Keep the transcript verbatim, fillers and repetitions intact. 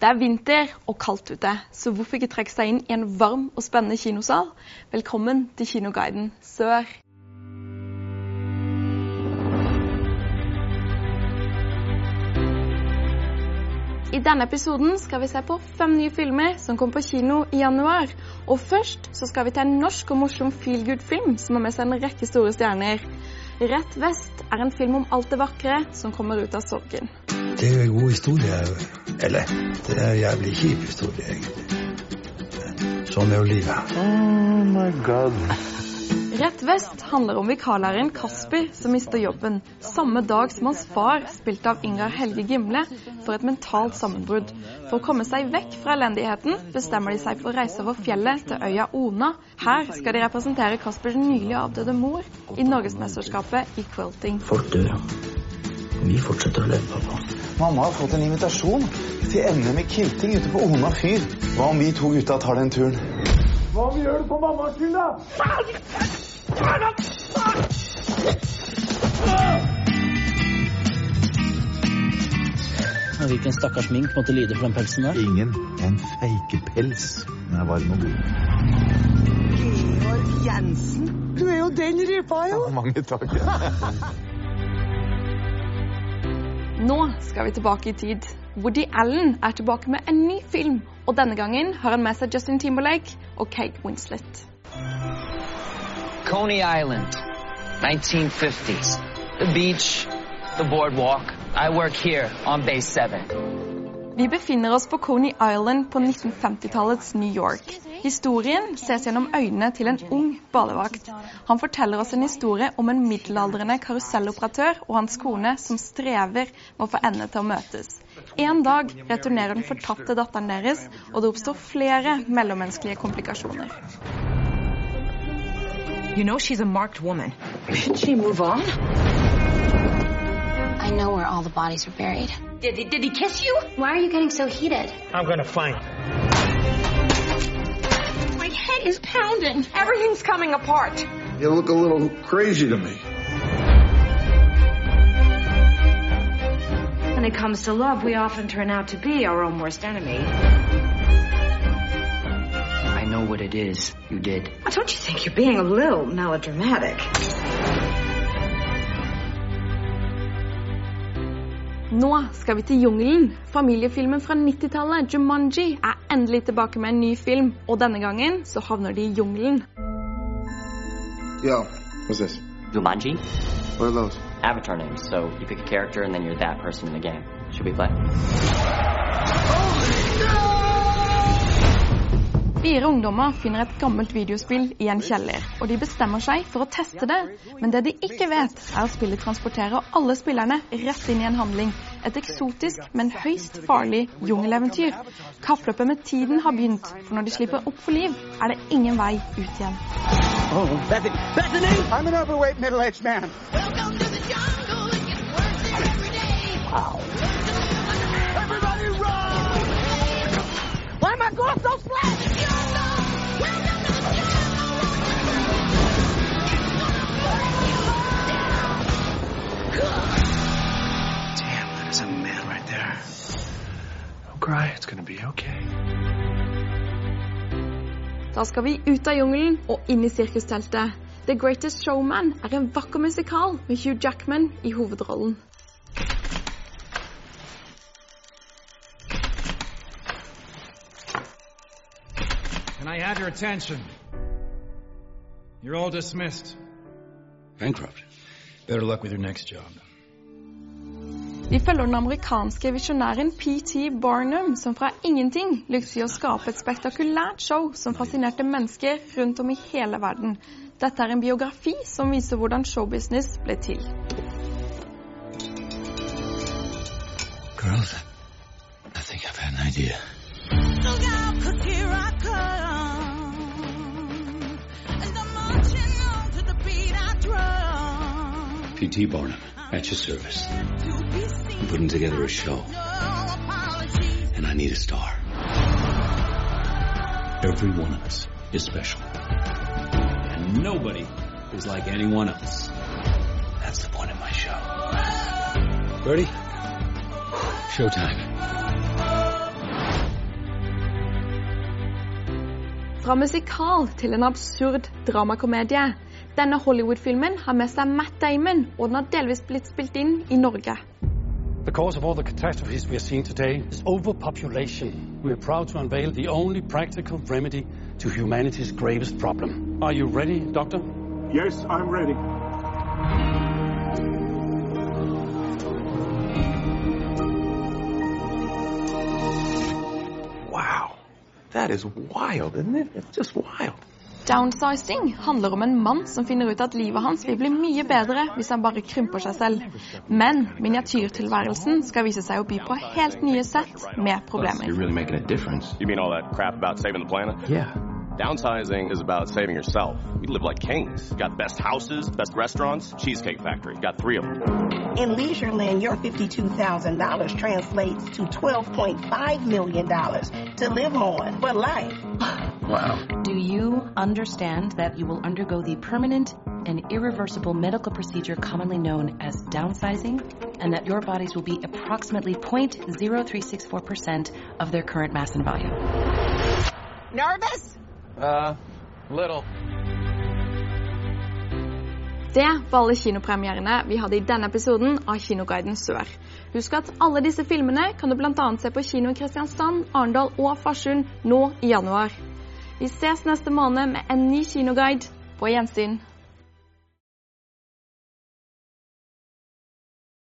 Det er vinter og kaldt ute, så hvorfor ikke trekke seg inn i en varm og spennende kinosal? Velkommen til Kinoguiden Sør. I denne episoden skal vi se på fem nye filmer som kom på kino i januar. Og først så skal vi til en norsk og morsom feel-good-film som har med seg en rekke store stjerner. Rett Vest er en film om alt det vakre som kommer ut av sorgen. Det er en god historie, eller det er en jævlig kjip historie egentlig. Sånn er jo livet. Oh my god. Rett Vest handler om vikarlæreren Kasper som mister jobben, samme dag som hans far, spilt av Ingar Helge Gimle, for et mentalt sammenbrudd. For å komme seg vekk fra elendigheten bestemmer de seg for å reise over fjellet til øya Ona. Her skal de representere Kaspers nylig avdøde mor i Norgesmesterskapet i quilting. Folk dør, vi fortsetter å leve, pappa. Mamma har fått en invitasjon til N M i quilting ute på Ona fyr. Hva om vi to gutta tar den turen? Hva om vi gjør det på mammas skyld, da? Hvilken stakkars mink måtte lide for den pelsen der? Ingen. En feikepels. Den er varm og god. Georg Jensen, du er jo den rypa, jo. Ja, mange takk. Nå skal vi tilbake i tid. Woody Allen er tilbake med en ny film, og denne gangen har han med seg Justin Timberlake og Kate Winslet. Coney Island, nineteen fifties. The beach, the boardwalk. I work here on Base seven. Vi befinner oss på Coney Island på nitten femti-tallets New York. Historien ses gjennom øynene til en ung badevakt. Han forteller oss en historie om en middelaldrende karuselloperatør og hans kone som strever med å få endene til å møtes. En dag returnerer den fortappte datteren deres, og det oppstår flere mellommenneskelige komplikasjoner. You know she's a marked woman. Should she move on? I know where all the bodies are buried. Did he, did he kiss you? Why are you getting so heated? I'm gonna find her. My head is pounding. Everything's coming apart. You look a little crazy to me. When it comes to love, we often turn out to be our own worst enemy. I know what it is you did. Oh, don't you think you're being a little melodramatic? Nå skal vi til jungelen. Familiefilmen fra nittitallet, Jumanji, er endelig tilbake med en ny film, og denne gangen så havner de i jungelen. Yeah, what's this? Jumanji? What are those? Avatar names. So you pick a character and then you're that person in the game. Should we play? Fire ungdommer finner et gammelt videospill i en kjeller, og de bestemmer seg for å teste det. Men det de ikke vet, er at spillet transporterer alle spillerne rett inn i en handling. Et eksotisk, men høyst farlig jungeleventyr. Kappløpet med tiden har begynt, for når de slipper opp for liv, er det ingen vei ut igjen. Oh, Bethany! Bethany! I'm an overweight middle-aged man. Welcome to the jungle, it gets worse every day. Wow. Everybody run! Why am I going so flat? Damn, that is a man right there. Don't cry, it's gonna be okay. Da skal vi ut av jungelen og inn i sirkusteltet. The Greatest Showman er en vakker musikal med Hugh Jackman i hovedrollen. Can I have your attention? You're all dismissed. Bankrupt. Better luck with your next job. Vi følger den amerikanske visjonæren P T Barnum, som fra ingenting lyktes i å skape et spektakulært show som fascinerte mennesker rundt om i hele verden. Dette er en biografi som viser hvordan showbusiness ble til. Girls, I think I've had an idea. Look out, 'cause here I come. And I'm marching on to the beat I drum. P T Barnum, at your service. I'm putting together a show. And I need a star. Every one of us is special. And nobody is like anyone else. That's the point of my show. Ready? Showtime. Fra musikal til en absurd dramakomedie. Denne Hollywood-filmen har med seg Matt Damon, og den har delvis blitt spilt inn i Norge. The cause of all the catastrophes we are seeing today is overpopulation. We are proud to unveil the only practical remedy to humanity's gravest problem. Are you ready, Doctor? Yes, I'm ready. Wow. That is wild, isn't it? It's just wild. Downsizing handler om en mann som finner ut at livet hans vil bli mye bedre hvis han bare krymper seg selv. Men miniatyrtilværelsen skal vise seg å by på helt nye sett med problemer. You're really making a difference. You mean all that crap about saving the planet? Yeah. Downsizing is about saving yourself. We live like kings. Got the best houses, best restaurants, Cheesecake Factory. Got three of them. In Leisureland, your fifty-two thousand dollars translates to twelve point five million dollars to live on for life. Wow. Do you understand that you will undergo the permanent and irreversible medical procedure commonly known as downsizing, and that your bodies will be approximately zero point zero three six four percent of their current mass and volume? Nervous? Uh, little. Det var alle kinopremierene vi hadde i denne episoden av Kinoguiden Sør. Husk at alle disse filmene kan du blant annet se på kino i Kristiansand, Arendal og Farsund nå i januar. Vi ses neste måned med en ny kinoguide. På gjensyn.